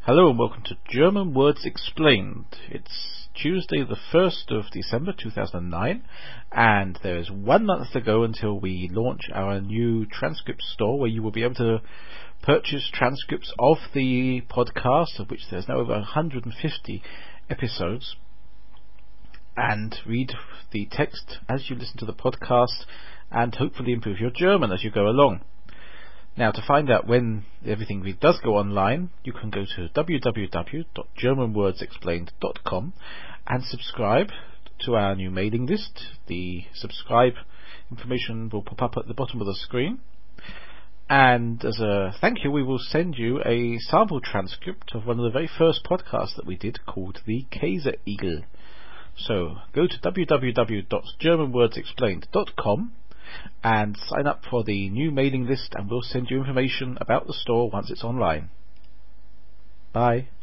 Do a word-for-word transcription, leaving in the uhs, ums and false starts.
Hello and welcome to German Words Explained. It's Tuesday the first of December two thousand nine and there is one month to go until we launch our new transcript store where you will be able to purchase transcripts of the podcast, of which there's now over one hundred fifty episodes, and read the text as you listen to the podcast and hopefully improve your German as you go along. Now, to find out when everything does go online, you can go to w w w dot german words explained dot com and subscribe to our new mailing list. The subscribe information will pop up at the bottom of the screen. And as a thank you, we will send you a sample transcript of one of the very first podcasts that we did called the Käseigel. So go to w w w dot german words explained dot com and sign up for the new mailing list, and we'll send you information about the store once it's online. Bye.